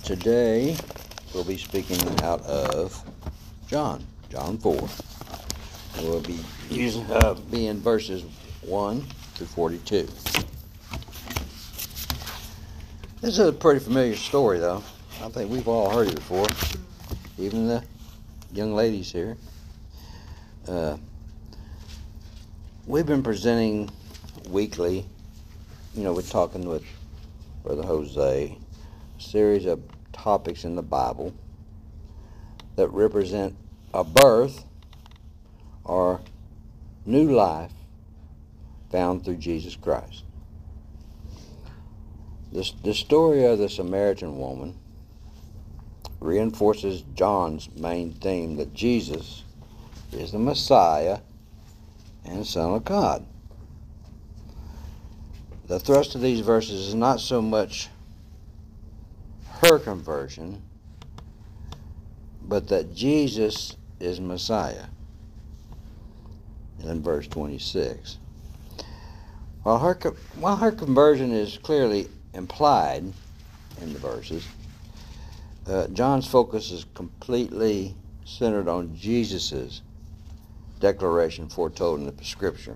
Today we'll be speaking out of John 4. We'll be in verses 1 through 42. This is a pretty familiar story, though. I think we've all heard it before, even the young ladies here. We've been presenting weekly, we're talking with Brother Jose, a series of topics in the Bible that represent a birth or new life found through Jesus Christ. The story of the Samaritan woman reinforces John's main theme that Jesus is the Messiah and Son of God. The thrust of these verses is not so much her conversion, but that Jesus is Messiah. In verse 26. While her conversion is clearly implied in the verses, John's focus is completely centered on Jesus' declaration foretold in the Scripture.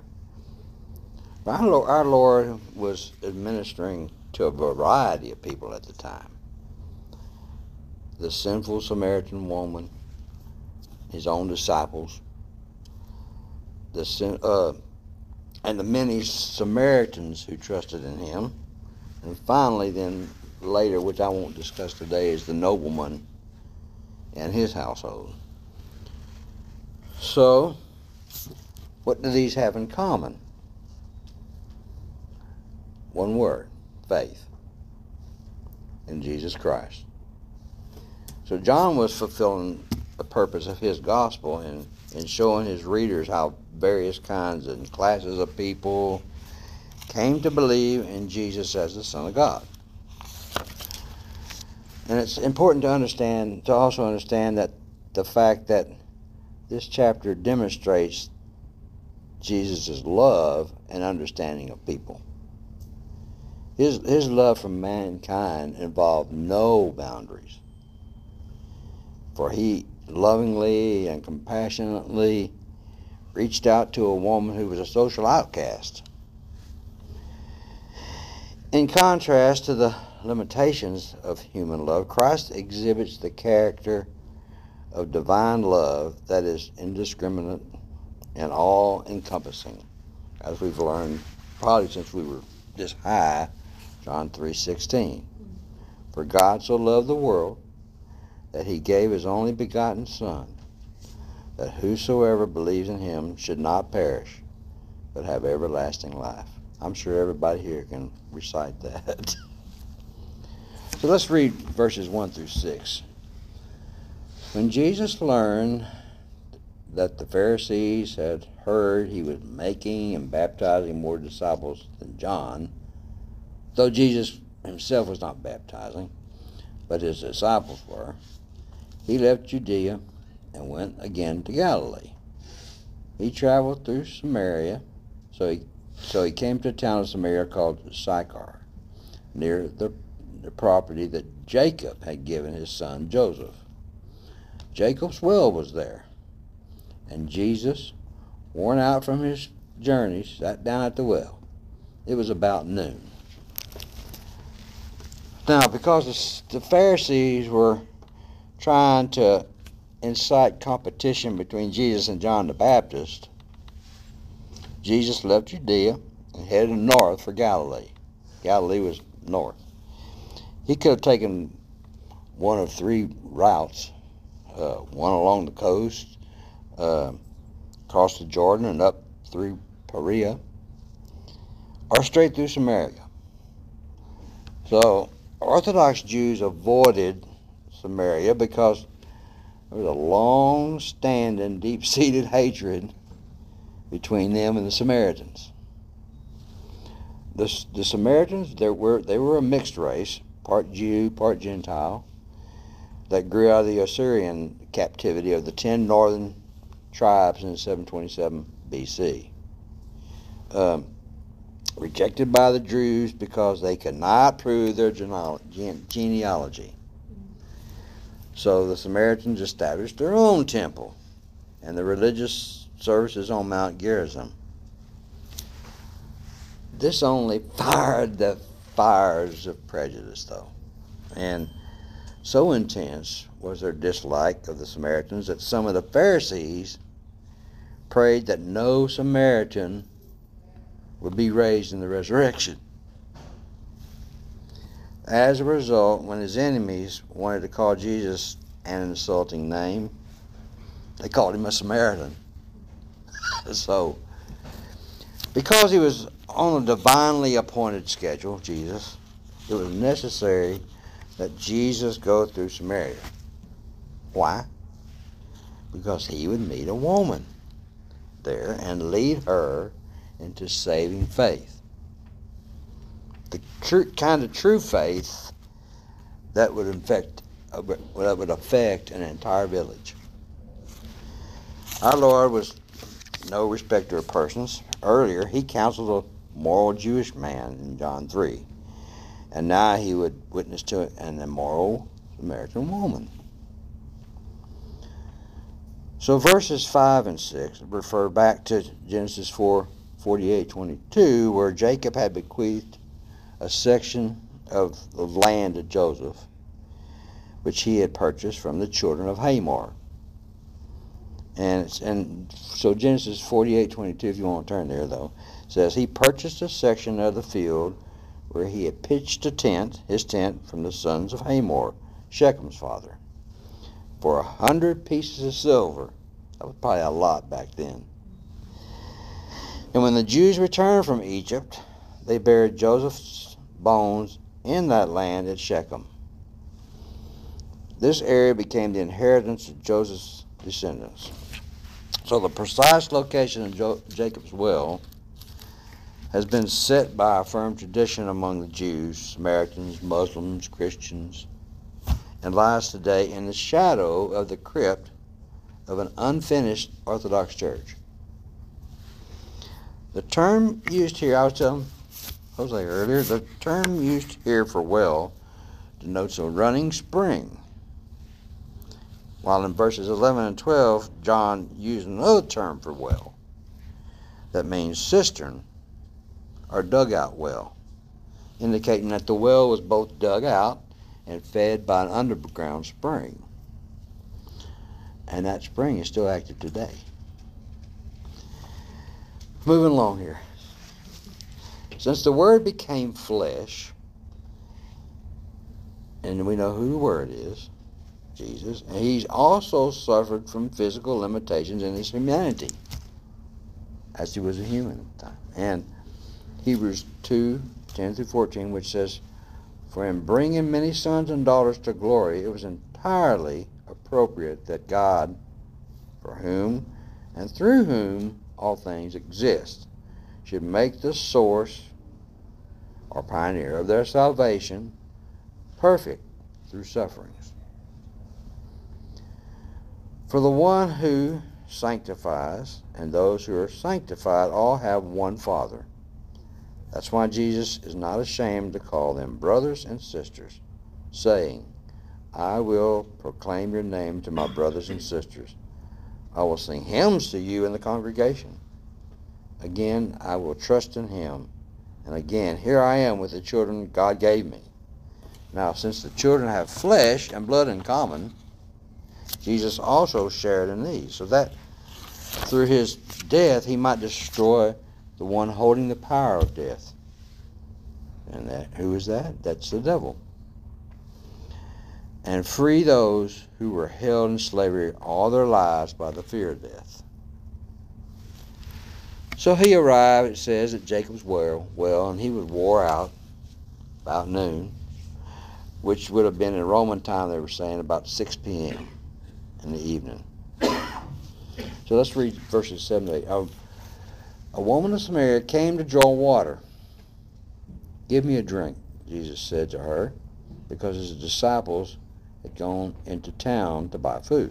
Our Lord was administering to a variety of people at the time. The sinful Samaritan woman, his own disciples, and the many Samaritans who trusted in him. And finally, then later, which I won't discuss today, is the nobleman and his household. So, what do these have in common? One word: faith in Jesus Christ. So John was fulfilling the purpose of his gospel in showing his readers how various kinds and classes of people came to believe in Jesus as the Son of God. And it's important to also understand that the fact that this chapter demonstrates Jesus' love and understanding of people. His love for mankind involved no boundaries, for he lovingly and compassionately reached out to a woman who was a social outcast. In contrast to the limitations of human love, Christ exhibits the character of divine love that is indiscriminate and all-encompassing, as we've learned probably since we were this high, John 3:16. For God so loved the world that he gave his only begotten Son, that whosoever believes in him should not perish, but have everlasting life. I'm sure everybody here can recite that. So let's read verses 1 through 6. When Jesus learned that the Pharisees had heard he was making and baptizing more disciples than John, though Jesus himself was not baptizing, but his disciples were, he left Judea and went again to Galilee. He traveled through Samaria, so he came to a town of Samaria called Sychar, near the property that Jacob had given his son Joseph. Jacob's well was there, and Jesus, worn out from his journey, sat down at the well. It was about noon. Now, because the Pharisees were trying to incite competition between Jesus and John the Baptist, Jesus left Judea and headed north for Galilee. Galilee was north. He could have taken one of three routes, one along the coast, across the Jordan and up through Perea, or straight through Samaria. So Orthodox Jews avoided Samaria because there was a long-standing, deep-seated hatred between them and the Samaritans. The Samaritans, they were a mixed race, part Jew, part Gentile, that grew out of the Assyrian captivity of the 10 northern tribes in 727 BC. Rejected by the Jews because they could not prove their genealogy. So the Samaritans established their own temple and the religious services on Mount Gerizim. This only fired the fires of prejudice, though. And so intense was their dislike of the Samaritans that some of the Pharisees prayed that no Samaritan would be raised in the resurrection. As a result, when his enemies wanted to call Jesus an insulting name, they called him a Samaritan. So, because he was on a divinely appointed schedule, Jesus, it was necessary that Jesus go through Samaria. Why? Because he would meet a woman there and lead her into saving faith. The kind of true faith that would affect an entire village. Our Lord was no respecter of persons. Earlier, he counseled a moral Jewish man in John 3. And now he would witness to an immoral Samaritan woman. So verses 5 and 6 refer back to Genesis 4:48-22, where Jacob had bequeathed a section of the land to Joseph, which he had purchased from the children of Hamor. And so Genesis 48:22, if you want to turn there, though, says he purchased a section of the field where he had pitched a tent, his tent, from the sons of Hamor, Shechem's father, for 100 pieces of silver. That was probably a lot back then. And when the Jews returned from Egypt, they buried Joseph's bones in that land at Shechem. This area became the inheritance of Joseph's descendants. So the precise location of Jacob's well has been set by a firm tradition among the Jews, Samaritans, Muslims, Christians, and lies today in the shadow of the crypt of an unfinished Orthodox church. The term used here, I was telling Jose earlier, the term used here for well denotes a running spring, while in verses 11 and 12, John used another term for well that means cistern or dugout well, indicating that the well was both dug out and fed by an underground spring. And that spring is still active today. Moving along here. Since the Word became flesh, and we know who the Word is, Jesus, and he's also suffered from physical limitations in his humanity, as he was a human at the time. And Hebrews 2:10-14, which says, "For in bringing many sons and daughters to glory, it was entirely appropriate that God, for whom and through whom all things exist, should make the source or pioneer of their salvation perfect through sufferings. For the one who sanctifies and those who are sanctified all have one Father. That's why Jesus is not ashamed to call them brothers and sisters, saying, I will proclaim your name to my brothers and sisters. I will sing hymns to you in the congregation. Again, I will trust in him. And again, here I am with the children God gave me." Now, since the children have flesh and blood in common, Jesus also shared in these, so that through his death he might destroy the one holding the power of death. And who is that? That's the devil. And free those who were held in slavery all their lives by the fear of death. So he arrived, it says, at Jacob's well, and he was wore out about noon, which would have been in Roman time, they were saying, about 6 p.m. in the evening. So let's read verses 7 to 8. A woman of Samaria came to draw water. "Give me a drink," Jesus said to her, because his disciples had gone into town to buy food.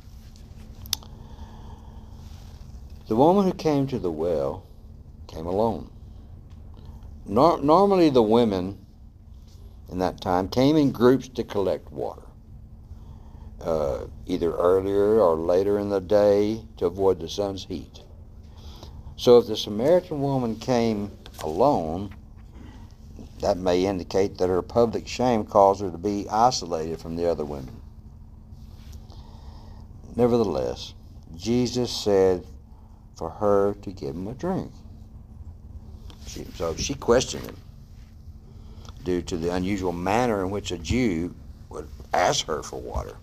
The woman who came to the well came alone. Normally the women in that time came in groups to collect water. either earlier or later in the day to avoid the sun's heat. So if the Samaritan woman came alone, that may indicate that her public shame caused her to be isolated from the other women. Nevertheless, Jesus said for her to give him a drink. So she questioned him due to the unusual manner in which a Jew would ask her for water.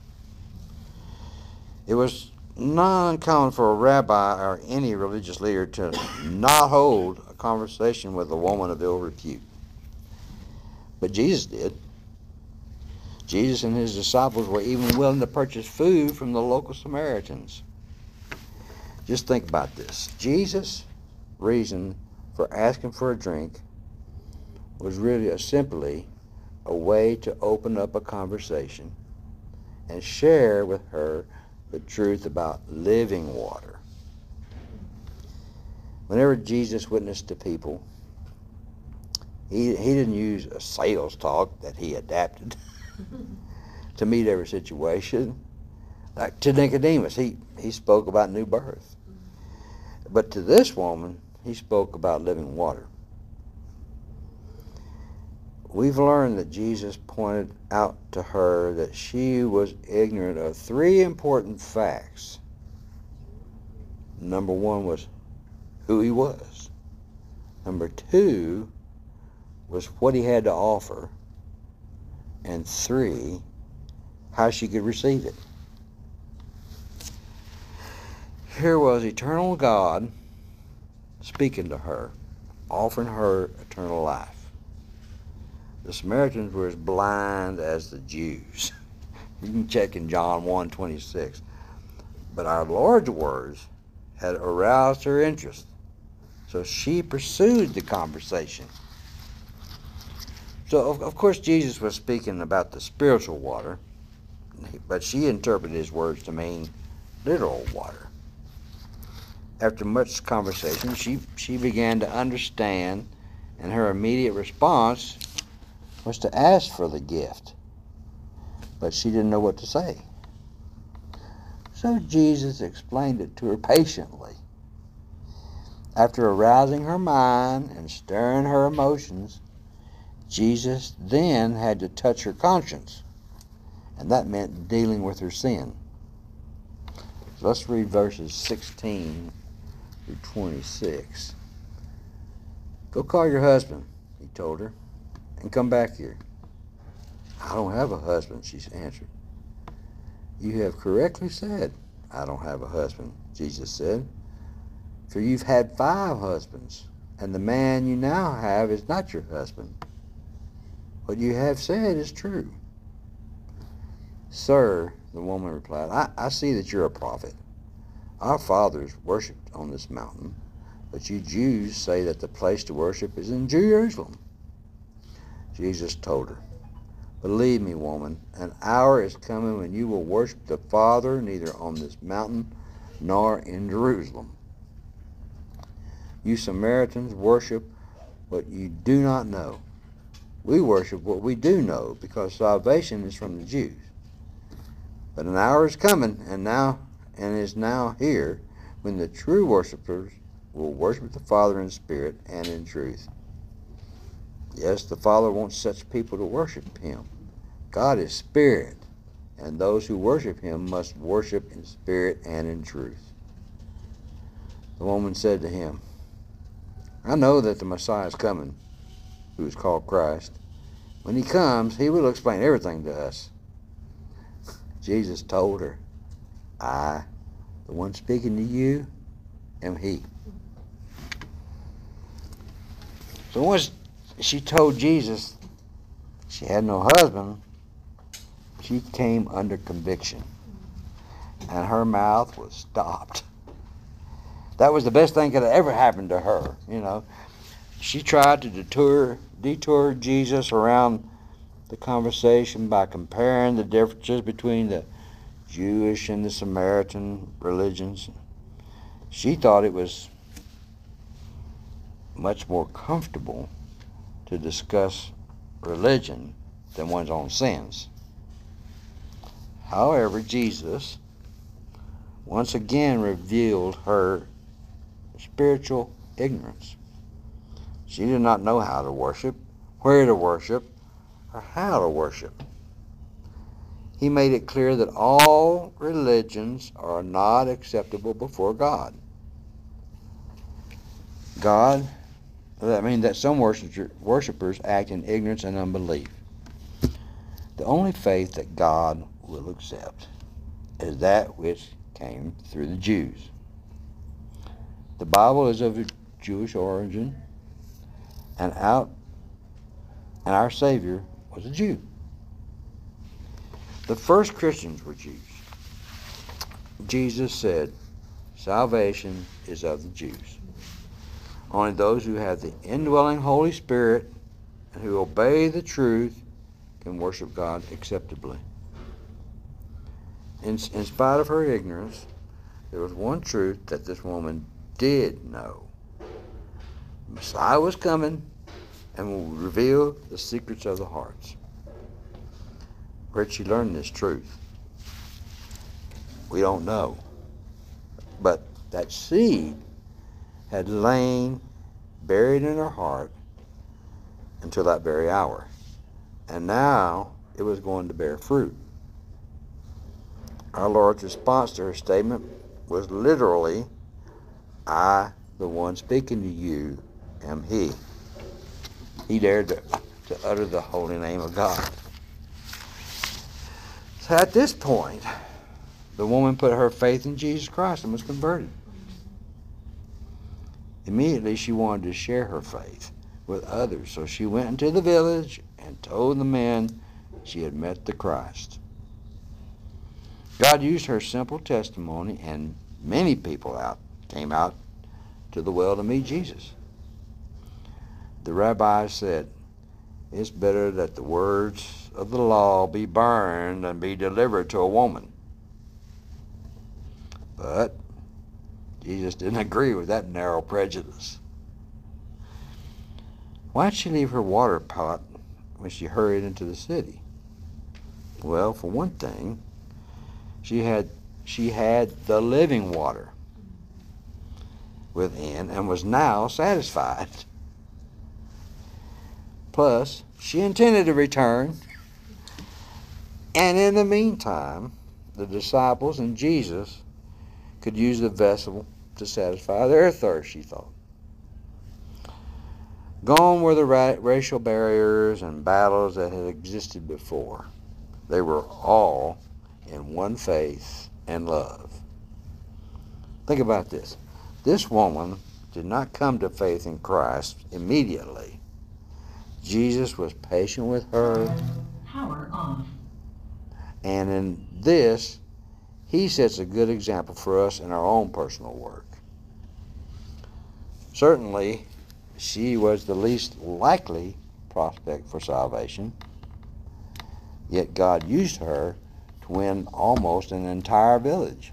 It was not uncommon for a rabbi or any religious leader to not hold a conversation with a woman of ill repute. But Jesus did. Jesus and his disciples were even willing to purchase food from the local Samaritans. Just think about this. Jesus' reason for asking for a drink was really simply a way to open up a conversation and share with her the truth about living water. Whenever Jesus witnessed to people, he didn't use a sales talk that he adapted to meet every situation. Like to Nicodemus, he spoke about new birth. But to this woman, he spoke about living water. We've learned that Jesus pointed out to her that she was ignorant of three important facts. Number one was who he was. Number two was what he had to offer. And three, how she could receive it. Here was eternal God speaking to her, offering her eternal life. The Samaritans were as blind as the Jews. You can check in John 1:26. But our Lord's words had aroused her interest, so she pursued the conversation. So, of course, Jesus was speaking about the spiritual water, but she interpreted his words to mean literal water. After much conversation, she began to understand, and her immediate response was to ask for the gift, but she didn't know what to say. So Jesus explained it to her patiently. After arousing her mind and stirring her emotions, Jesus then had to touch her conscience, and that meant dealing with her sin. So let's read verses 16 through 26. Go call your husband, he told her, and come back here. I don't have a husband, she answered. You have correctly said, I don't have a husband, Jesus said, for you've had 5 husbands, and the man you now have is not your husband. What you have said is true. Sir, the woman replied, I see that you're a prophet. Our fathers worshipped on this mountain, but you Jews say that the place to worship is in Jerusalem. Jesus told her, believe me, woman, an hour is coming when you will worship the Father neither on this mountain nor in Jerusalem. You Samaritans worship what you do not know. We worship what we do know, because salvation is from the Jews. But an hour is coming, and is now here, when the true worshipers will worship the Father in spirit and in truth. Yes, the Father wants such people to worship him. God is spirit, and those who worship him must worship in spirit and in truth. The woman said to him, I know that the Messiah is coming, who is called Christ. When he comes, he will explain everything to us. Jesus told her, I, the one speaking to you, am he. So once she told Jesus she had no husband, she came under conviction, and her mouth was stopped. That was the best thing that could have ever happened to her, you know. She tried to detour Jesus around the conversation by comparing the differences between the Jewish and the Samaritan religions. She thought it was much more comfortable to discuss religion than one's own sins. However, Jesus once again revealed her spiritual ignorance. She did not know how to worship, where to worship, or how to worship. He made it clear that all religions are not acceptable before God. That some worshipers act in ignorance and unbelief. The only faith that God will accept is that which came through the Jews. The Bible is of Jewish origin, and our Savior was a Jew. The first Christians were Jews. Jesus said, salvation is of the Jews. Only those who have the indwelling Holy Spirit and who obey the truth can worship God acceptably. In spite of her ignorance, there was one truth that this woman did know. The Messiah was coming and will reveal the secrets of the hearts. Where'd she learn this truth? We don't know. But that seed had lain buried in her heart until that very hour. And now it was going to bear fruit. Our Lord's response to her statement was literally, I, the one speaking to you, am He. He dared to utter the holy name of God. So at this point, the woman put her faith in Jesus Christ and was converted. Immediately, she wanted to share her faith with others, so she went into the village and told the men she had met the Christ. God used her simple testimony, and many people came out to the well to meet Jesus. The rabbis said, it's better that the words of the law be burned than be delivered to a woman. But Jesus didn't agree with that narrow prejudice. Why'd she leave her water pot when she hurried into the city? Well, for one thing, she had the living water within and was now satisfied. Plus, she intended to return. And in the meantime, the disciples and Jesus could use the vessel to satisfy their thirst, she thought. Gone were the racial barriers and battles that had existed before. They were all in one faith and love. Think about this. This woman did not come to faith in Christ immediately. Jesus was patient with her. Power off. And in this, he sets a good example for us in our own personal work. Certainly, she was the least likely prospect for salvation, yet God used her to win almost an entire village.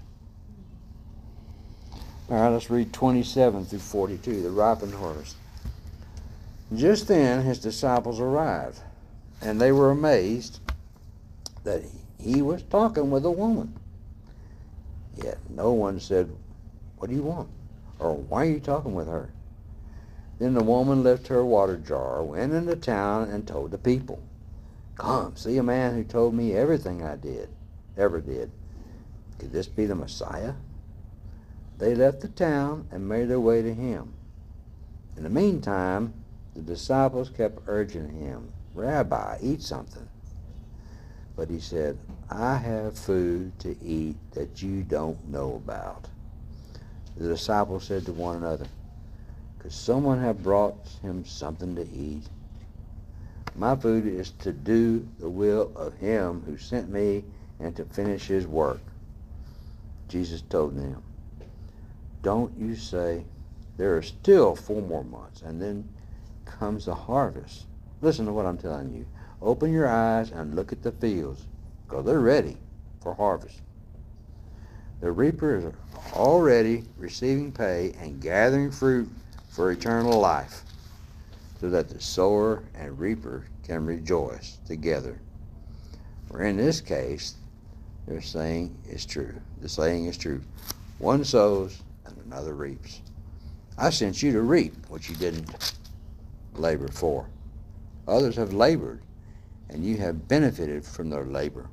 All right, let's read 27 through 42, the ripened harvest. Just then his disciples arrived, and they were amazed that he was talking with a woman. Yet no one said, what do you want? Or why are you talking with her? Then the woman left her water jar, went into town, and told the people, come, see a man who told me everything I ever did. Could this be the Messiah? They left the town and made their way to him. In the meantime, the disciples kept urging him, Rabbi, eat something. But he said, I have food to eat that you don't know about. The disciples said to one another, could someone have brought him something to eat? My food is to do the will of him who sent me and to finish his work. Jesus told them, don't you say, there are still 4 more months, and then comes the harvest. Listen to what I'm telling you. Open your eyes and look at the fields, because they're ready for harvest. The reaper is already receiving pay and gathering fruit for eternal life, so that the sower and reaper can rejoice together. For in this case, Their saying is true. The saying is true. One sows and another reaps. I sent you to reap what you didn't labor for. Others have labored, and you have benefited from their labor.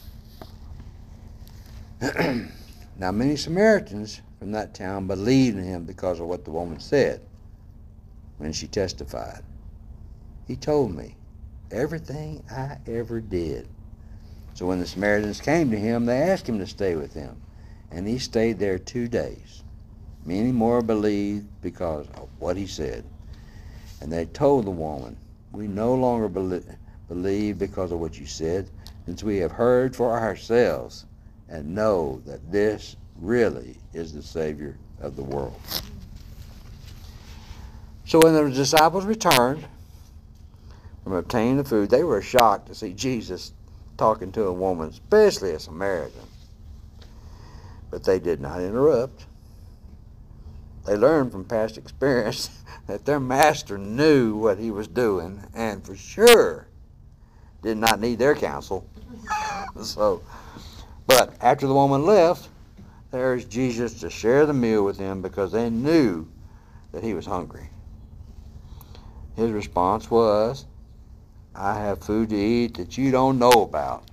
Now many Samaritans from that town believed in him because of what the woman said when she testified. He told me everything I ever did. So when the Samaritans came to him, they asked him to stay with them, and he stayed there 2 days. Many more believed because of what he said. And they told the woman, we no longer believe because of what you said, since we have heard for ourselves and know that this really is the Savior of the world. So when the disciples returned from obtaining the food, they were shocked to see Jesus talking to a woman, especially a Samaritan. But they did not interrupt. They learned from past experience that their master knew what he was doing and for sure did not need their counsel. But after the woman left, they urged Jesus to share the meal with them because they knew that he was hungry. His response was, I have food to eat that you don't know about.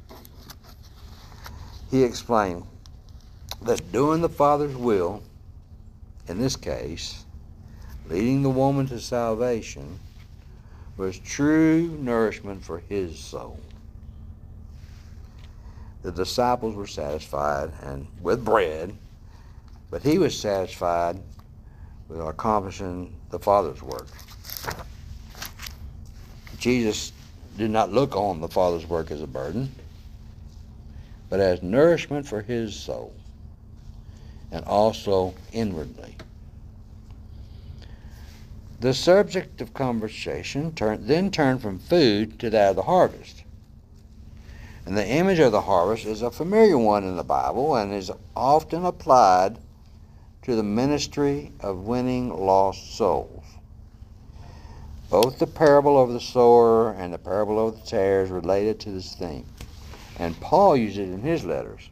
He explained that doing the Father's will, in this case, leading the woman to salvation, was true nourishment for his soul. The disciples were satisfied and with bread, but he was satisfied with accomplishing the Father's work. Jesus did not look on the Father's work as a burden, but as nourishment for his soul, and also inwardly. The subject of conversation then turned from food to that of the harvest. And the image of the harvest is a familiar one in the Bible and is often applied to the ministry of winning lost souls. Both the parable of the sower and the parable of the tares related to this theme, and Paul used it in his letters.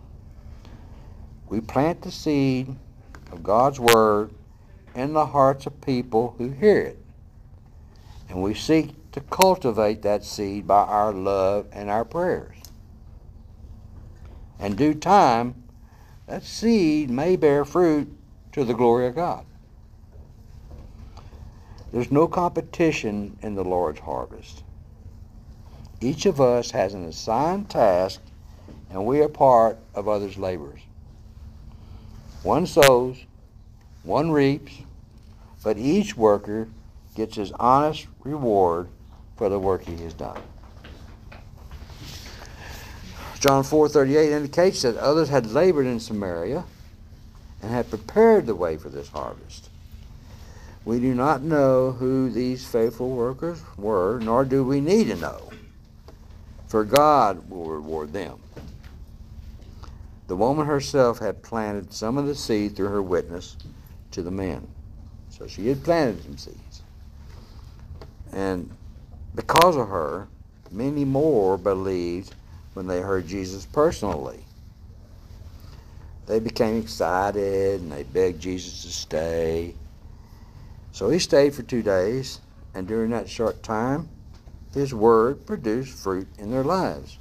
We plant the seed of God's Word in the hearts of people who hear it, and we seek to cultivate that seed by our love and our prayers. In due time, that seed may bear fruit to the glory of God. There's no competition in the Lord's harvest. Each of us has an assigned task, and we are part of others' labors. One sows, one reaps, but each worker gets his honest reward for the work he has done. John 4:38 indicates that others had labored in Samaria and had prepared the way for this harvest. We do not know who these faithful workers were, nor do we need to know, for God will reward them. The woman herself had planted some of the seed through her witness to the men. So she had planted some seeds. And because of her, many more believed when they heard Jesus personally. They became excited and they begged Jesus to stay. So he stayed for 2 days, and during that short time, his word produced fruit in their lives.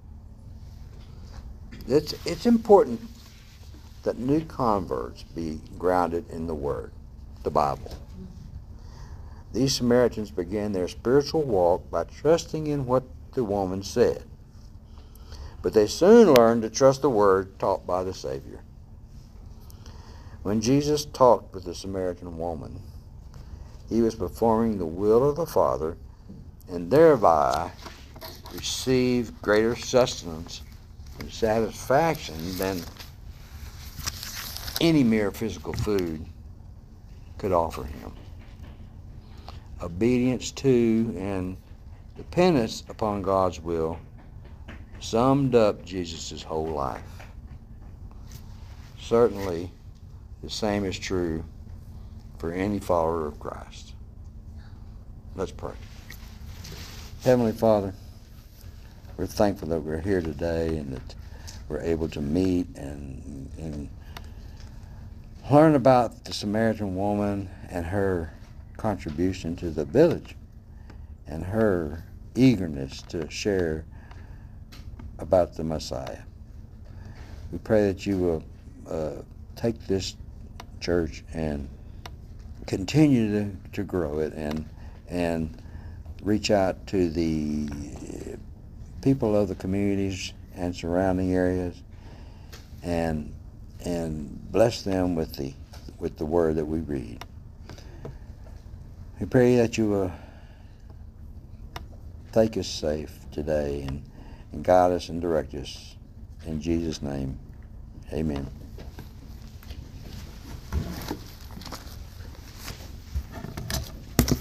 It's important that new converts be grounded in the Word, the Bible. These Samaritans began their spiritual walk by trusting in what the woman said. But they soon learned to trust the Word taught by the Savior. When Jesus talked with the Samaritan woman, he was performing the will of the Father and thereby received greater sustenance and satisfaction than any mere physical food could offer him. Obedience to and dependence upon God's will summed up Jesus' whole life. Certainly, the same is true for any follower of Christ. Let's pray. Heavenly Father, we're thankful that we're here today and that were able to meet and learn about the Samaritan woman and her contribution to the village and her eagerness to share about the Messiah. We pray that you will take this church and continue to grow it and reach out to the people of the communities and surrounding areas and bless them with the word that we read. We pray that you will take us safe today and guide us and direct us. In Jesus' name, amen.